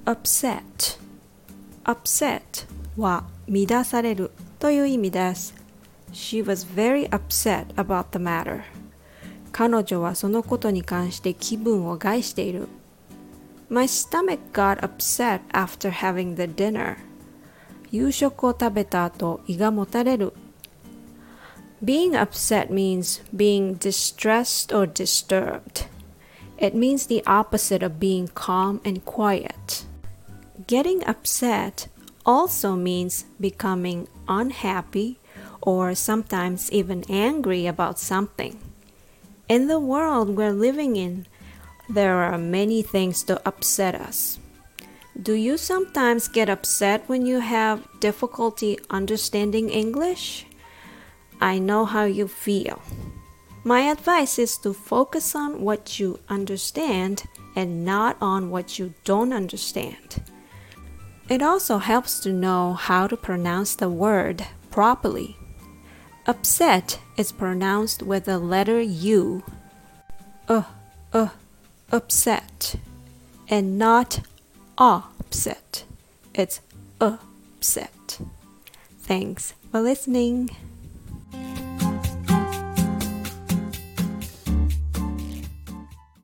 upset upset は乱されるという意味です。She was very upset about the matter. 彼女はそのことに関して気分を害している。My stomach got upset after having the dinner. 夕食を食べた後、胃がもたれる。Being upset means being distressed or disturbed. It means the opposite of being calm and quiet. Getting upset also means becoming unhappy or sometimes even angry about something. In the world we're living in, there are many things to upset us. Do you sometimes get upset when you have difficulty understanding English? I know how you feel. My advice is to focus on what you understand and not on what you don't understand. It also helps to know how to pronounce the word properly. Upset is pronounced with the letter U. Upset. And not upset. It's upset. Thanks for listening.